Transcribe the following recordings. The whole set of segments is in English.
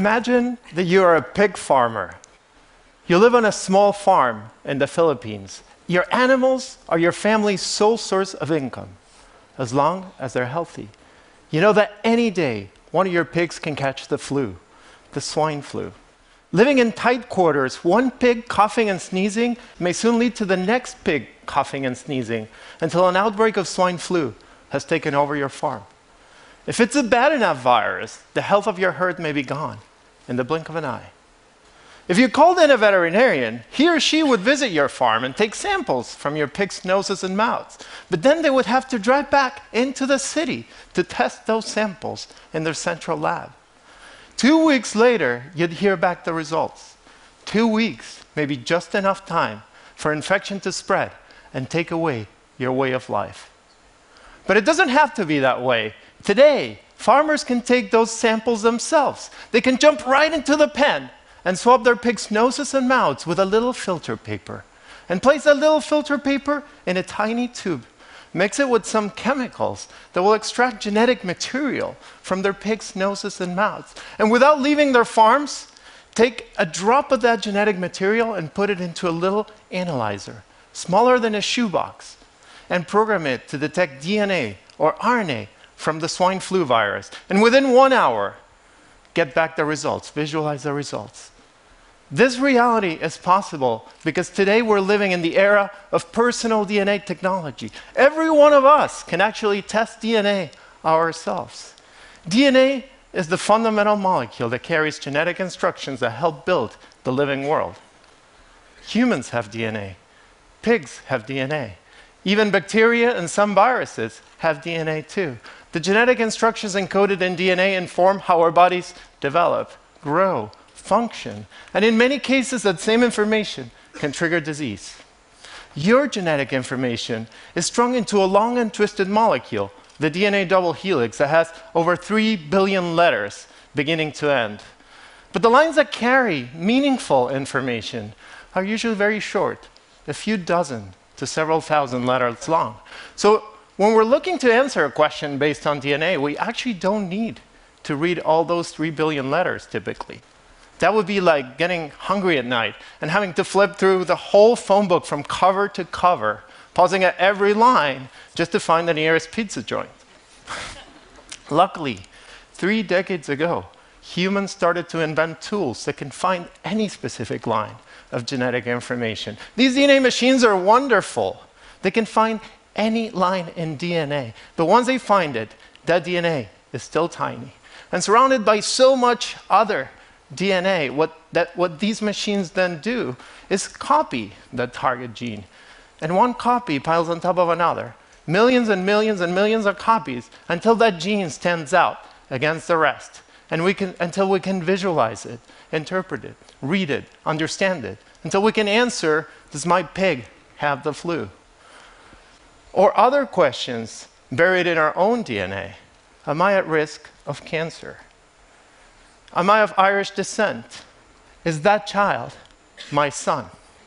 Imagine that you are a pig farmer. You live on a small farm in the Philippines. Your animals are your family's sole source of income, as long as they're healthy. You know that any day, one of your pigs can catch the flu, the swine flu. Living in tight quarters, one pig coughing and sneezing may soon lead to the next pig coughing and sneezing until an outbreak of swine flu has taken over your farm. If it's a bad enough virus, the health of your herd may be gone in the blink of an eye. If you called in a veterinarian, he or she would visit your farm and take samples from your pigs' noses and mouths. But then they would have to drive back into the city to test those samples in their central lab. 2 weeks later, you'd hear back the results. 2 weeks may be just enough time for infection to spread and take away your way of life. But it doesn't have to be that way. Today, farmers can take those samples themselves. They can jump right into the pen and swab their pigs' noses and mouths with a little filter paper, and place that little filter paper in a tiny tube. Mix it with some chemicals that will extract genetic material from their pigs' noses and mouths. And without leaving their farms, take a drop of that genetic material and put it into a little analyzer, smaller than a shoebox, and program it to detect DNA or RNA from the swine flu virus. And within 1 hour, get back the results, visualize the results. This reality is possible because today we're living in the era of personal DNA technology. Every one of us can actually test DNA ourselves. DNA is the fundamental molecule that carries genetic instructions that help build the living world. Humans have DNA. Pigs have DNA. Even bacteria and some viruses have DNA too. The genetic instructions encoded in DNA inform how our bodies develop, grow, function, and in many cases that same information can trigger disease. Your genetic information is strung into a long and twisted molecule, the DNA double helix, that has over 3 billion letters beginning to end. But the lines that carry meaningful information are usually very short, a few dozen to several thousand letters long. So when we're looking to answer a question based on DNA, we actually don't need to read all those 3 billion letters typically. That would be like getting hungry at night and having to flip through the whole phone book from cover to cover, pausing at every line just to find the nearest pizza joint. Luckily, 3 decades ago, humans started to invent tools that can find any specific line of genetic information. These DNA machines are wonderful. They can find any line in DNA. But once they find it, that DNA is still tiny and surrounded by so much other DNA. What these machines then do is copy that target gene. And one copy piles on top of another. Millions and millions and millions of copies until that gene stands out against the rest. And until we can visualize it, interpret it, read it, understand it. Until we can answer, does my pig have the flu? Or other questions buried in our own DNA. Am I at risk of cancer? Am I of Irish descent? Is that child my son?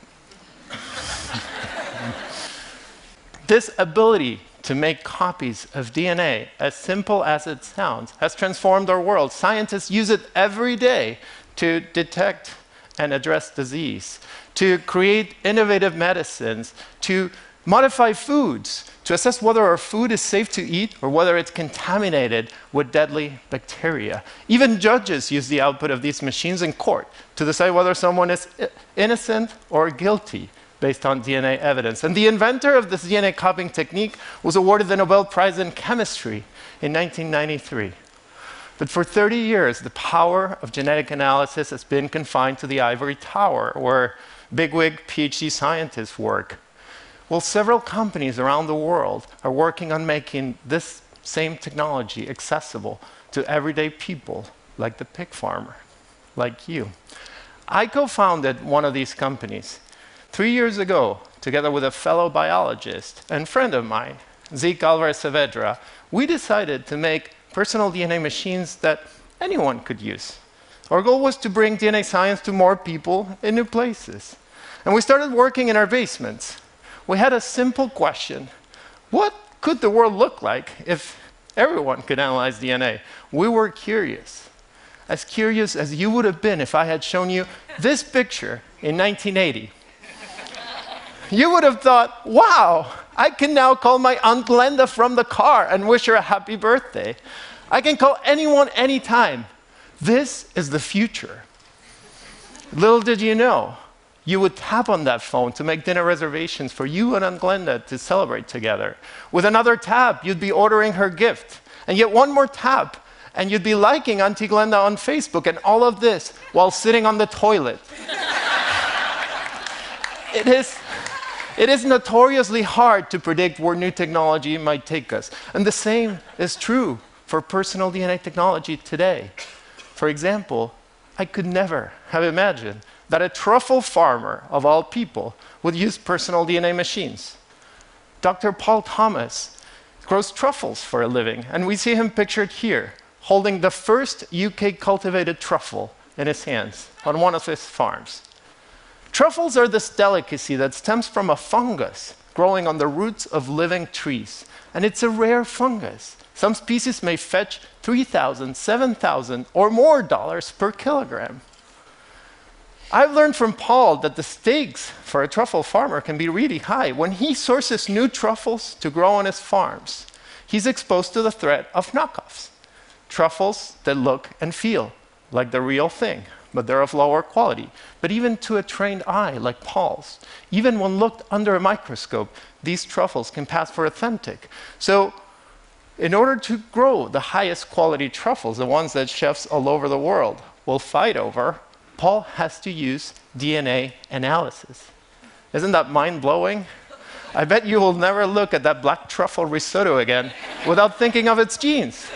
This ability to make copies of DNA, as simple as it sounds, has transformed our world. Scientists use it every day to detect and address disease, to create innovative medicines, to modify foods, to assess whether our food is safe to eat or whether it's contaminated with deadly bacteria. Even judges use the output of these machines in court to decide whether someone is innocent or guilty based on DNA evidence. And the inventor of this DNA copying technique was awarded the Nobel Prize in Chemistry in 1993. But for 30 years, the power of genetic analysis has been confined to the ivory tower, where bigwig PhD scientists work. Well, several companies around the world are working on making this same technology accessible to everyday people, like the pig farmer, like you. I co-founded one of these companies 3 years ago, together with a fellow biologist and friend of mine, Zeke Alvarez Saavedra. We decided to make personal DNA machines that anyone could use. Our goal was to bring DNA science to more people in new places. And we started working in our basements. We had a simple question: what could the world look like if everyone could analyze DNA? We were curious. as curious as you would have been if I had shown you this picture in 1980. You would have thought, wow, I can now call my Aunt Glenda from the car and wish her a happy birthday. I can call anyone anytime. This is the future. Little did you know, you would tap on that phone to make dinner reservations for you and Aunt Glenda to celebrate together. With another tap, you'd be ordering her gift. And yet one more tap, and you'd be liking Auntie Glenda on Facebook, and all of this while sitting on the toilet. It is notoriously hard to predict where new technology might take us. And the same is true for personal DNA technology today. For example, I could never have imagined that a truffle farmer, of all people, would use personal DNA machines. Dr. Paul Thomas grows truffles for a living, and we see him pictured here, holding the first UK-cultivated truffle in his hands on one of his farms. Truffles are this delicacy that stems from a fungus growing on the roots of living trees, and it's a rare fungus. Some species may fetch $3,000, $7,000, or more dollars per kilogram. I've learned from Paul that the stakes for a truffle farmer can be really high. When he sources new truffles to grow on his farms, he's exposed to the threat of knockoffs. Truffles that look and feel like the real thing, but they're of lower quality. But even to a trained eye like Paul's, even when looked under a microscope, these truffles can pass for authentic. So in order to grow the highest quality truffles, the ones that chefs all over the world will fight over, Paul has to use DNA analysis. Isn't that mind-blowing? I bet you will never look at that black truffle risotto again without thinking of its genes.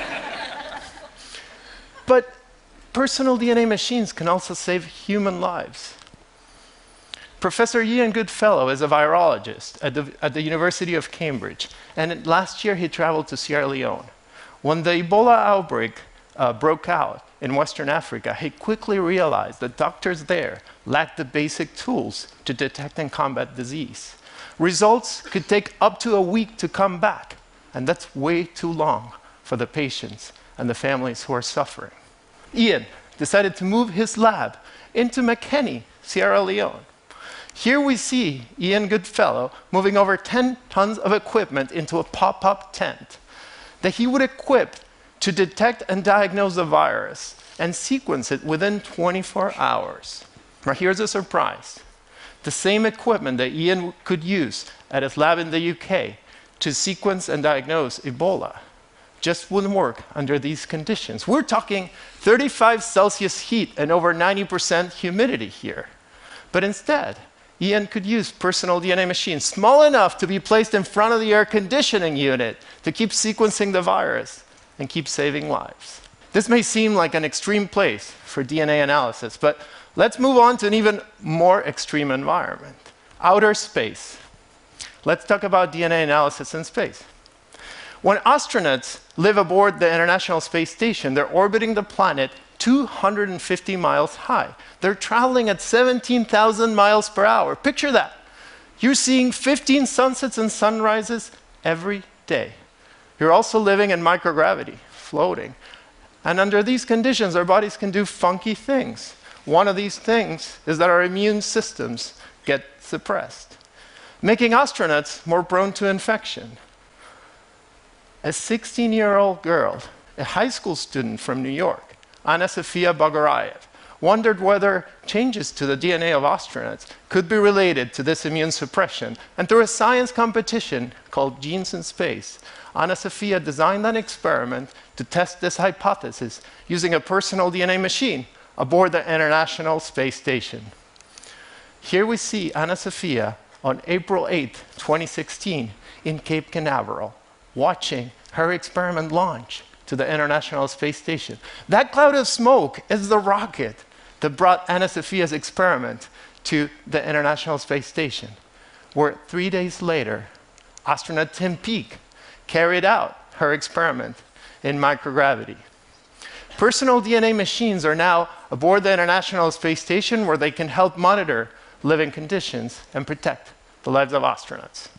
But personal DNA machines can also save human lives. Professor Ian Goodfellow is a virologist at the University of Cambridge, and last year he traveled to Sierra Leone. When the Ebola outbreak broke out in Western Africa, he quickly realized that doctors there lacked the basic tools to detect and combat disease. Results could take up to a week to come back, and that's way too long for the patients and the families who are suffering. Ian decided to move his lab into Makeni, Sierra Leone. Here we see Ian Goodfellow moving over 10 tons of equipment into a pop-up tent that he would equip to detect and diagnose the virus and sequence it within 24 hours. Now here's a surprise. The same equipment that Ian could use at his lab in the UK to sequence and diagnose Ebola just wouldn't work under these conditions. We're talking 35 Celsius heat and over 90% humidity here. But instead, Ian could use personal DNA machines small enough to be placed in front of the air conditioning unit to keep sequencing the virus and keep saving lives. This may seem like an extreme place for DNA analysis, but let's move on to an even more extreme environment, outer space. Let's talk about DNA analysis in space. When astronauts live aboard the International Space Station, they're orbiting the planet 250 miles high. They're traveling at 17,000 miles per hour. Picture that. You're seeing 15 sunsets and sunrises every day. You're also living in microgravity, floating. And under these conditions, our bodies can do funky things. One of these things is that our immune systems get suppressed, making astronauts more prone to infection. A 16-year-old girl, a high school student from New York, Anna Sofia Bogorayev, wondered whether changes to the DNA of astronauts could be related to this immune suppression. And through a science competition called Genes in Space, Anna Sofia designed an experiment to test this hypothesis using a personal DNA machine aboard the International Space Station. Here we see Anna Sofia on April 8, 2016, in Cape Canaveral, watching her experiment launch to the International Space Station. That cloud of smoke is the rocket that brought Anna Sofia's experiment to the International Space Station, where 3 days later, astronaut Tim Peake carried out her experiment in microgravity. Personal DNA machines are now aboard the International Space Station, where they can help monitor living conditions and protect the lives of astronauts.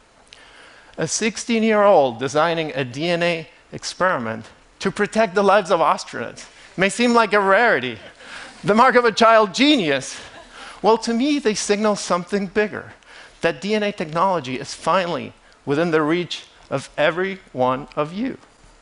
A 16-year-old designing a DNA experiment to protect the lives of astronauts may seem like a rarity, the mark of a child genius. Well, to me, they signal something bigger, that DNA technology is finally within the reach of every one of you.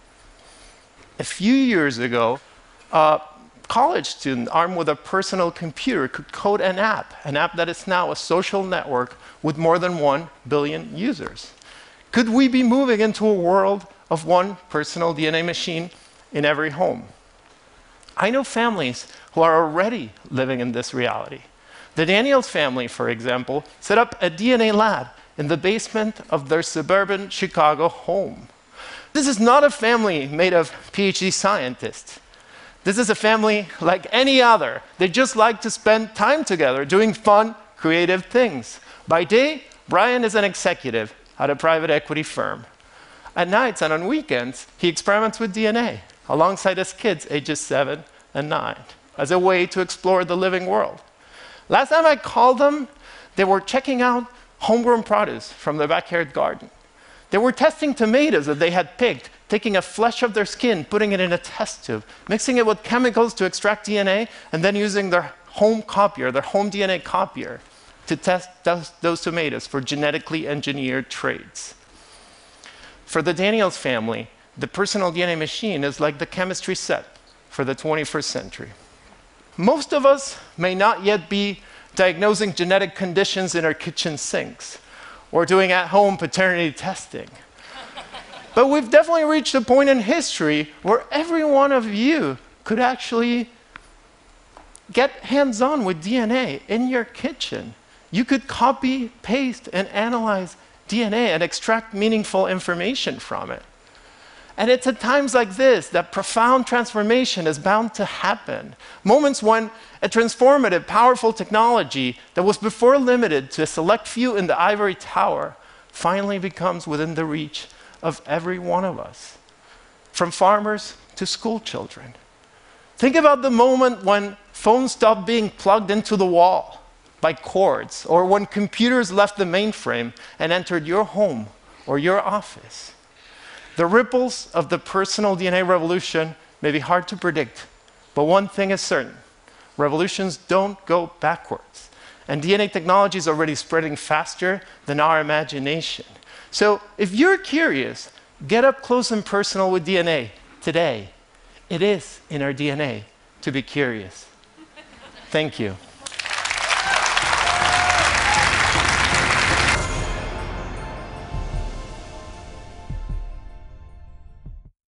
A few years ago, a college student armed with a personal computer could code an app that is now a social network with more than 1 billion users. Could we be moving into a world of one personal DNA machine in every home? I know families who are already living in this reality. The Daniels family, for example, set up a DNA lab in the basement of their suburban Chicago home. This is not a family made of PhD scientists. This is a family like any other. They just like to spend time together doing fun, creative things. By day, Brian is an executive at a private equity firm. At nights and on weekends, he experiments with DNA alongside his kids, ages 7 and 9, as a way to explore the living world. Last time I called them, they were checking out homegrown produce from their backyard garden. They were testing tomatoes that they had picked, taking a flesh of their skin, putting it in a test tube, mixing it with chemicals to extract DNA, and then using their home copier, their home DNA copier, to test those tomatoes for genetically engineered traits. For the Daniels family, the personal DNA machine is like the chemistry set for the 21st century. Most of us may not yet be diagnosing genetic conditions in our kitchen sinks or doing at-home paternity testing. But we've definitely reached a point in history where every one of you could actually get hands-on with DNA in your kitchen. You could copy, paste, and analyze DNA and extract meaningful information from it. And it's at times like this that profound transformation is bound to happen. Moments when a transformative, powerful technology that was before limited to a select few in the ivory tower finally becomes within the reach of every one of us, from farmers to school children. Think about the moment when phones stopped being plugged into the wall by cords, or when computers left the mainframe and entered your home or your office. The ripples of the personal DNA revolution may be hard to predict, but one thing is certain: revolutions don't go backwards. And DNA technology is already spreading faster than our imagination. So if you're curious, get up close and personal with DNA today. It is in our DNA to be curious. Thank you.